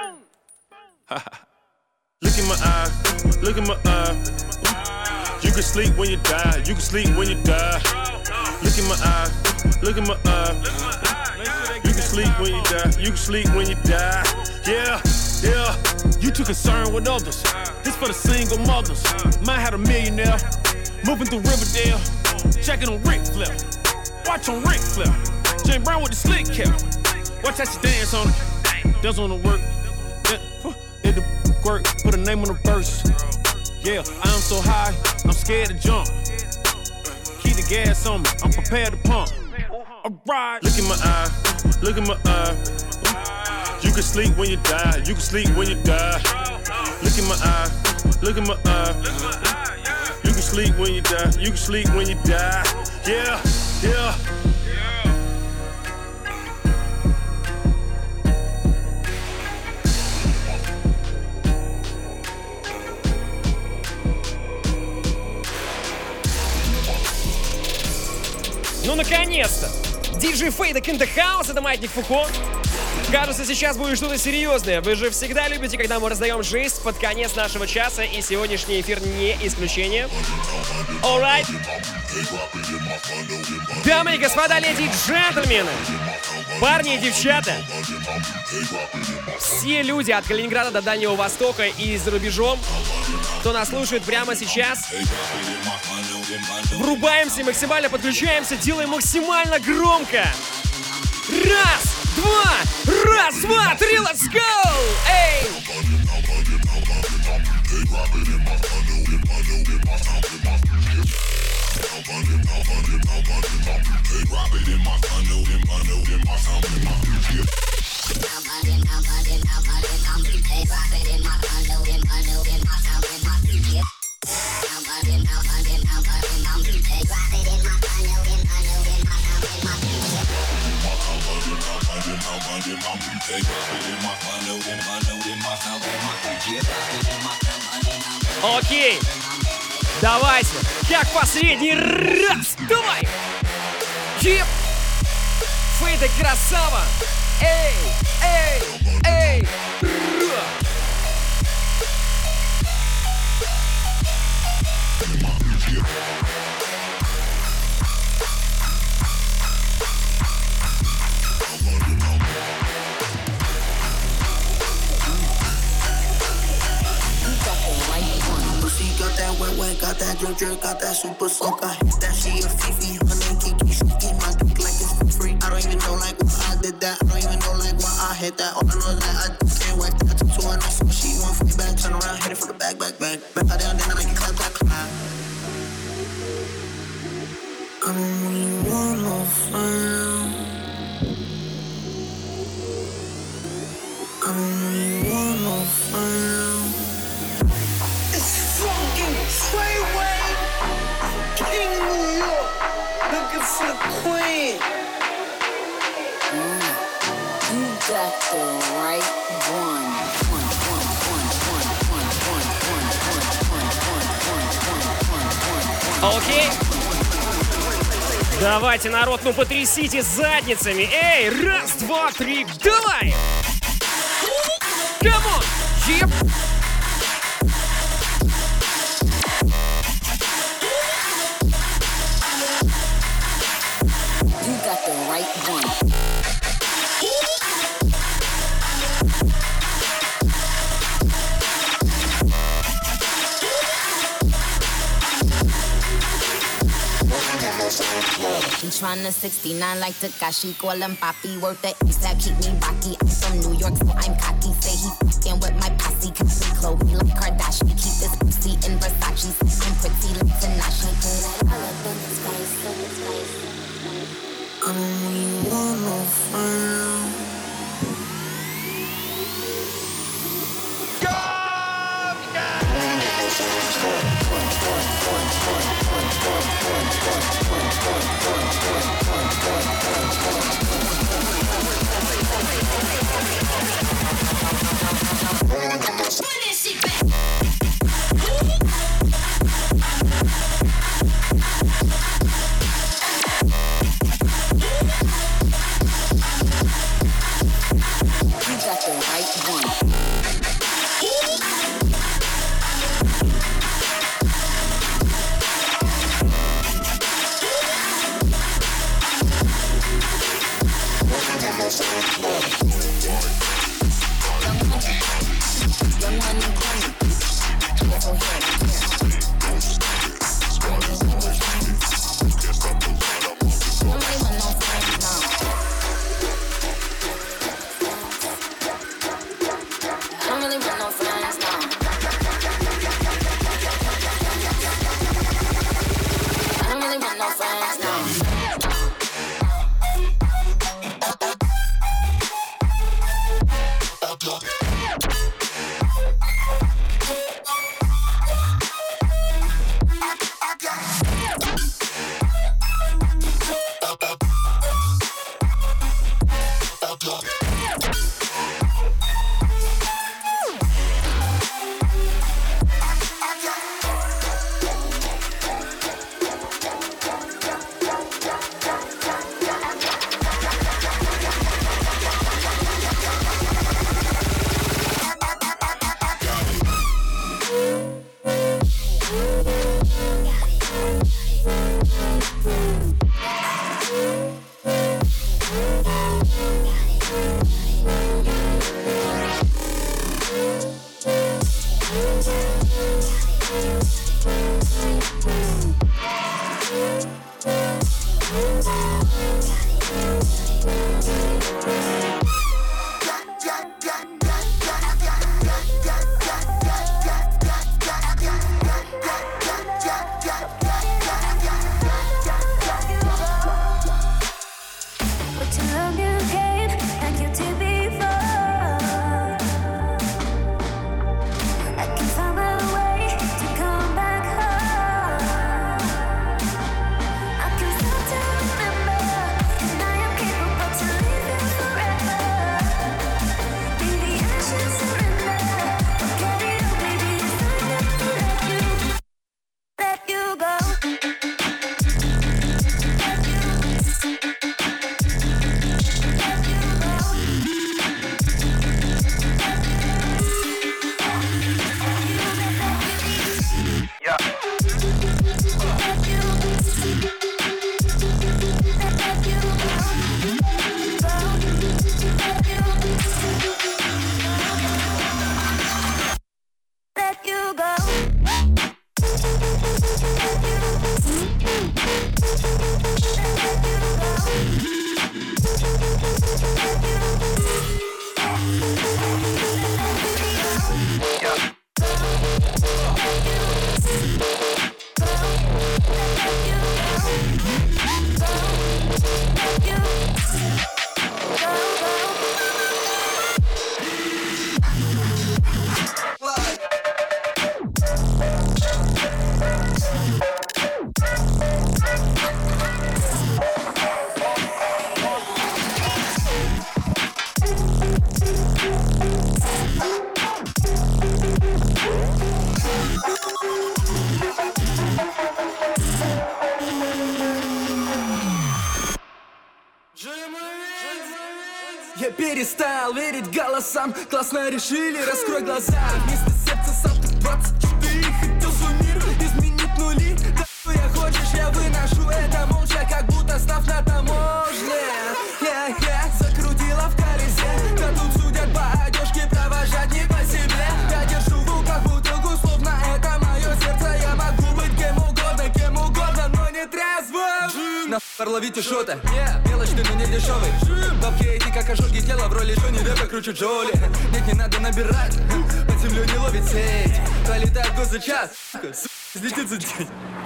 Look in my eye. Look in my eye. You can sleep when you die. You can sleep when you die. Look in my eye. Look in my eye. You can sleep when you die. You can sleep when you die. Yeah. Yeah, you too concerned with others. This for the single mothers. Mine had a millionaire moving through Riverdale, checking on Ric Flair. Watch on Ric Flair. James Brown with the slick cap. Watch how she dance on it. Dance on the work. Hit the work. Put a name on the verse. Yeah, I am so high, I'm scared to jump. Keep the gas on me. I'm prepared to pump. Alright. Look in my eye. Look in my eye. You can sleep when you die. You can sleep when you die. Look in my eye. Look in my eye. You can sleep when you die. You can sleep when you die. Yeah, yeah. Ну, наконец-то! Диджей Фейдек in the house, это Маятник Фуко. Кажется, сейчас будет что-то серьезное. Вы же всегда любите, когда мы раздаем жесть под конец нашего часа, и сегодняшний эфир не исключение. Alright. Дамы и господа, леди и джентльмены, парни и девчата, все люди от Калининграда до Дальнего Востока и за рубежом, кто нас слушает прямо сейчас. Врубаемся, максимально подключаемся, делаем максимально громко. Раз, два, три, let's go! Эй! Окей, давайте, как последний раз, давай! Еп! Фейда красава! Эй, эй, эй! Ра! Got that wet, got that drip, got that super soak. I hit that she a Fifi, her name Kiki. She eat my dick like it's for free. I don't even know like why I did that. I don't even know like why I hit that. All I know is that I can't wait. I took 2 and so she want for me back. Turn around, hit it for the back. Back her down, then I make it clap. I don't really want no fun. I don't really want no fun. Fucking Freeway, King New York, looking for the queen. You got the right one. Окей. Давайте, народ, ну потрясите задницами. Эй, раз, два, три, давай! Камон! Еп! I'm tryna 69 like Takashi, call him Papi, worth the East that keep me rocky. I'm from New York, so I'm cocky. Say he fucking with my posse, cause we Chloe like Kardashian. Keep this pussy in Versace, I'm pretty like Tanashi. I don't really want no fun. уже перестал верить голосам. Классно решили, раскрой глаза. Вместо сердца сам ты 24. Хотел свой мир изменить нули. Да что я хочешь, я выношу это молча, как будто став на таможне. Закрутила в колесе. Да тут судят по одежке, провожать не по себе. Я держу в руках бутылку, словно это мое сердце. Я могу быть кем угодно, но не трезвым. Нахуй ловите шоты, мелочь ты, но не дешевый. Бабки эти как ожоги тела, в роли Джонни Деппа кручу Джоли. Нет, не надо набирать, под землю не ловит сеть. Пролетает год за час, взлетит за день.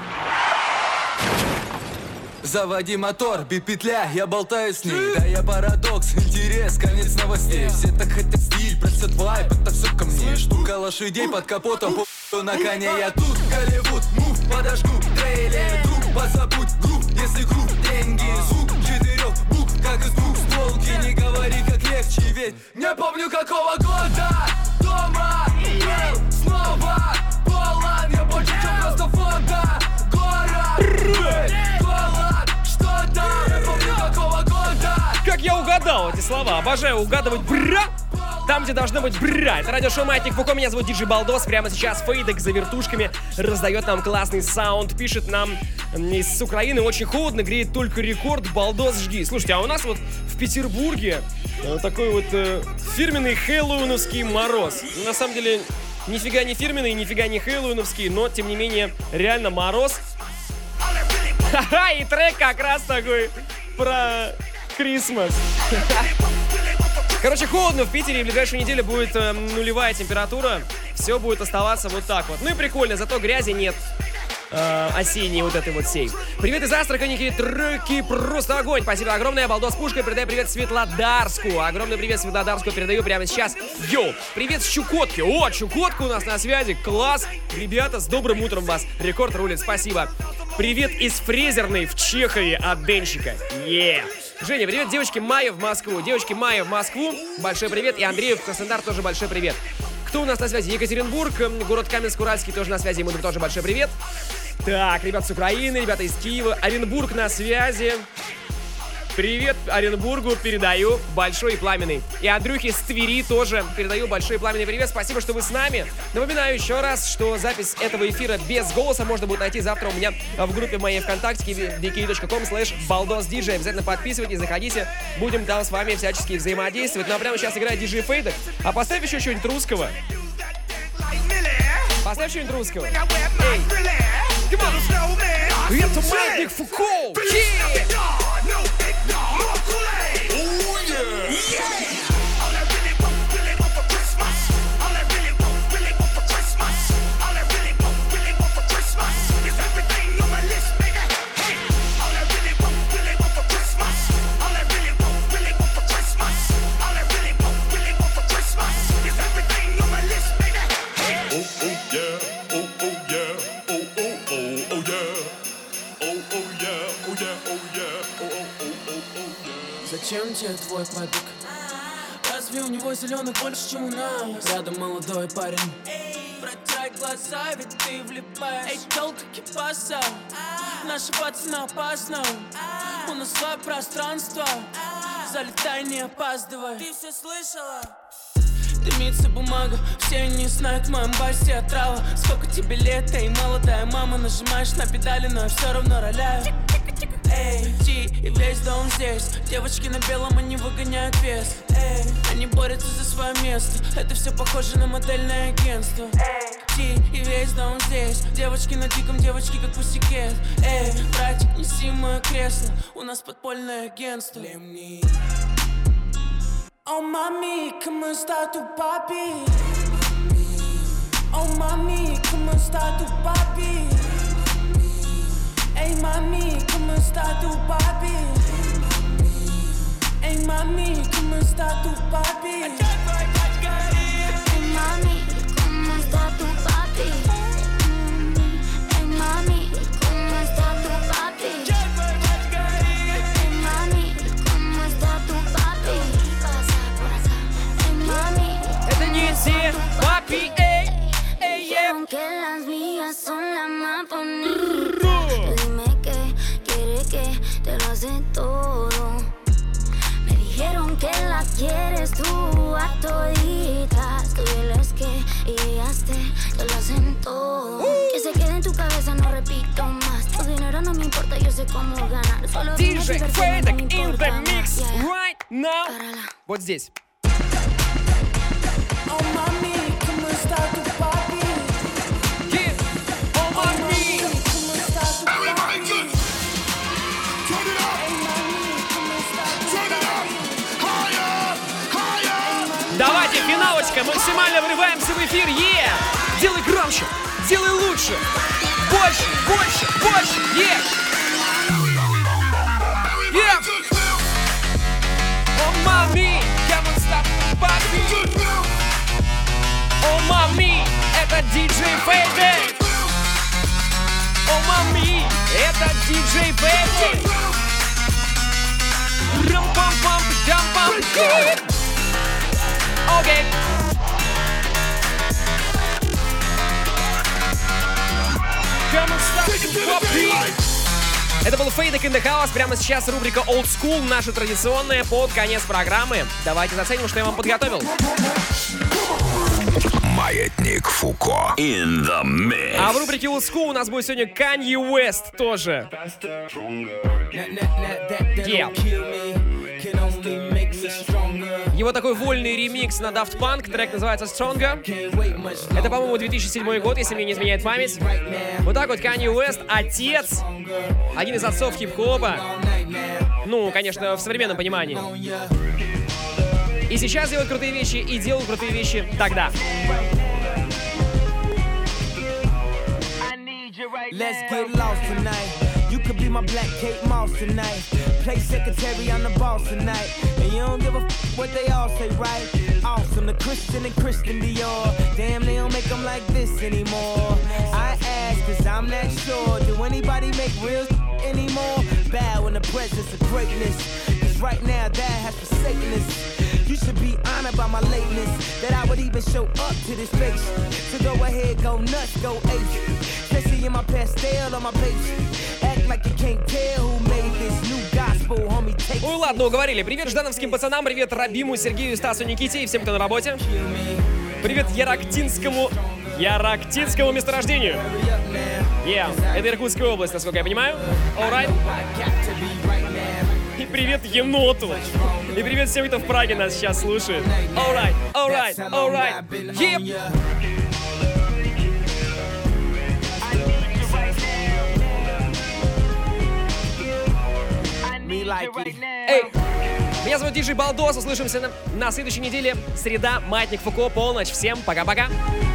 Заводи мотор, бит петля, я болтаю с ней. Да я парадокс, интерес, конец новостей. Все так хотят стиль, просят вайп, это все ко мне. Штука лошадей под капотом, на коне я тут. Голливуд, мув, подожгу, трейлер, друг, позабудь групп. Если круг, деньги, звук, 4 букв, как из двух стволки. Не говори, как легче, ведь не помню какого года. Дома, был, снова, полон, я больше, чем просто фото. Город, голод, что-то, не помню какого года. Как я угадал эти слова, обожаю угадывать бра там, где должно быть бра. Это радиошоу Маятник Фуко, меня зовут Диджей Балдос. Прямо сейчас Фейдек за вертушками раздает нам классный саунд. Пишет нам из Украины: очень холодно, греет только рекорд, Балдос, жги. Слушайте, а у нас вот в Петербурге такой вот фирменный хэллоуиновский мороз. На самом деле, нифига не фирменный, нифига не хэллоуиновский, но, тем не менее, реально мороз. Ха-ха, и трек как раз такой про Крисмас. Короче, холодно в Питере, и в ближайшую неделю будет нулевая температура. Все будет оставаться вот так вот. Ну и прикольно, зато грязи нет. Осенней вот этой вот сей. Привет из Астрахани, треки просто огонь. Спасибо огромное. Балдос Пушка, передаю привет Светлодарску. Огромный привет Светлодарску передаю прямо сейчас. Йоу, привет с Чукотки. О, Чукотка у нас на связи. Класс. Ребята, с добрым утром вас. Рекорд рулит, спасибо. Привет из Фрезерной в Чехове от Денчика. Женя, привет девочке Майе в Москву. Девочке Майе в Москву. Большой привет. И Андрею в Краснодар тоже большой привет. Кто у нас на связи? Екатеринбург, город Каменск-Уральский тоже на связи. Ему тоже большой привет. Так, ребята с Украины, ребята из Киева. Оренбург на связи. Привет Оренбургу передаю большой и пламенный. И Андрюхе с Твери тоже передаю большой и пламенный привет. Спасибо, что вы с нами. Напоминаю еще раз, что запись этого эфира без голоса можно будет найти завтра у меня в группе моей ВКонтакте vk.com/baldosdj. Обязательно подписывайтесь, заходите. Будем там с вами всячески взаимодействовать. Ну а прямо сейчас играет диджей Фейдек. А поставь еще что-нибудь русского. Поставь что-нибудь русского. Эй! Это Маятник Фуко! Зачем тебе твой побег? Разве у него зеленых больше, чем у нас? Рядом молодой парень. Протирай глаза, ведь ты влипаешь. Эй, толка кипаса. Наша пацана опасна. У нас свое пространство. Залетай, не опаздывай. Ты все слышала? Дымится бумага, все не знают, в моем басе отрава. Сколько тебе лет, эй, молодая мама. Нажимаешь на педали, но я все равно роляю. Эй, ти и весь дом здесь. Девочки на белом, они выгоняют вес. Эй, они борются за свое место. Это все похоже на модельное агентство. Эй, ти и весь дом здесь. Девочки на диком, девочки как пусикет. Эй, братик, неси мое кресло. У нас подпольное агентство. Oh mami, come sta tu papi? Oh mami, come sta tu papi? Hey mami, come sta tu papi? Hey mami, come sta tu papi? Hey mami, come sta tu papi? Hey mami, come sta tu papi? Hey mami, come sta tu papi? Hey mami, это не все папи, эй, эй, эй. Que las mías son las más bonitas. Que te lo hace todo. Me dijeron que la quieres tú a toditas. Tú diles que y ellas te lo hacen todo. Que se quede en tu cabeza, no repito más. Tu dinero no me importa, yo sé cómo ganar. Solo DJ Fedek in the mix right now. Вот здесь. Давайте, финалочка, максимально врываемся в эфир, Делай громче, делай лучше, больше, больше, больше, Oh, mami, come on, stop the party. Oh, mami, это DJ Fedek. Oh, mami, это DJ Fedek. Рам-пам-пам, дам-пам, Окей. Это был Fedek in the House. Прямо сейчас рубрика Old School, наша традиционная, под конец программы. Давайте заценим, что я вам подготовил. Маятник Фуко in the mix. А в рубрике Old School у нас будет сегодня Kanye West тоже. Его такой вольный ремикс на Daft Punk, трек называется Stronger. Это, по-моему, 2007 год, если мне не изменяет память. Вот так вот Kanye West, отец, один из отцов хип-хопа. Ну, конечно, в современном понимании. И сейчас делают крутые вещи, и делал крутые вещи тогда. Let's get lost tonight. You could be my black Kate Moss tonight. Play secretary, I'm the boss tonight. And you don't give a what they all say, right? Awesome, the Christian and Christian Dior. Damn, they don't make them like this anymore. I ask, cause I'm not sure. Do anybody make real anymore? Bow in the presence of greatness. Cause right now that has forsaken us. You should be honored by my lateness. That I would even show up to this place. So go ahead, go nuts, go ape. Especially in my pastel on my page. Act like you can't tell who made this new gospel, homie. Take. Ой, ладно, уговорили. Привет ждановским пацанам, привет Рабиму, Сергею, Стасу, Никите и всем, кто на работе. Привет Ярактинскому месторождению. Это Иркутская область, насколько я понимаю. Alright. И привет еноту. И привет всем, кто в Праге нас сейчас слушает. Alright, alright, alright. Эй, меня зовут Диджей Балдос. Услышимся на следующей неделе. Среда, Маятник Фуко, полночь. Всем пока-пока.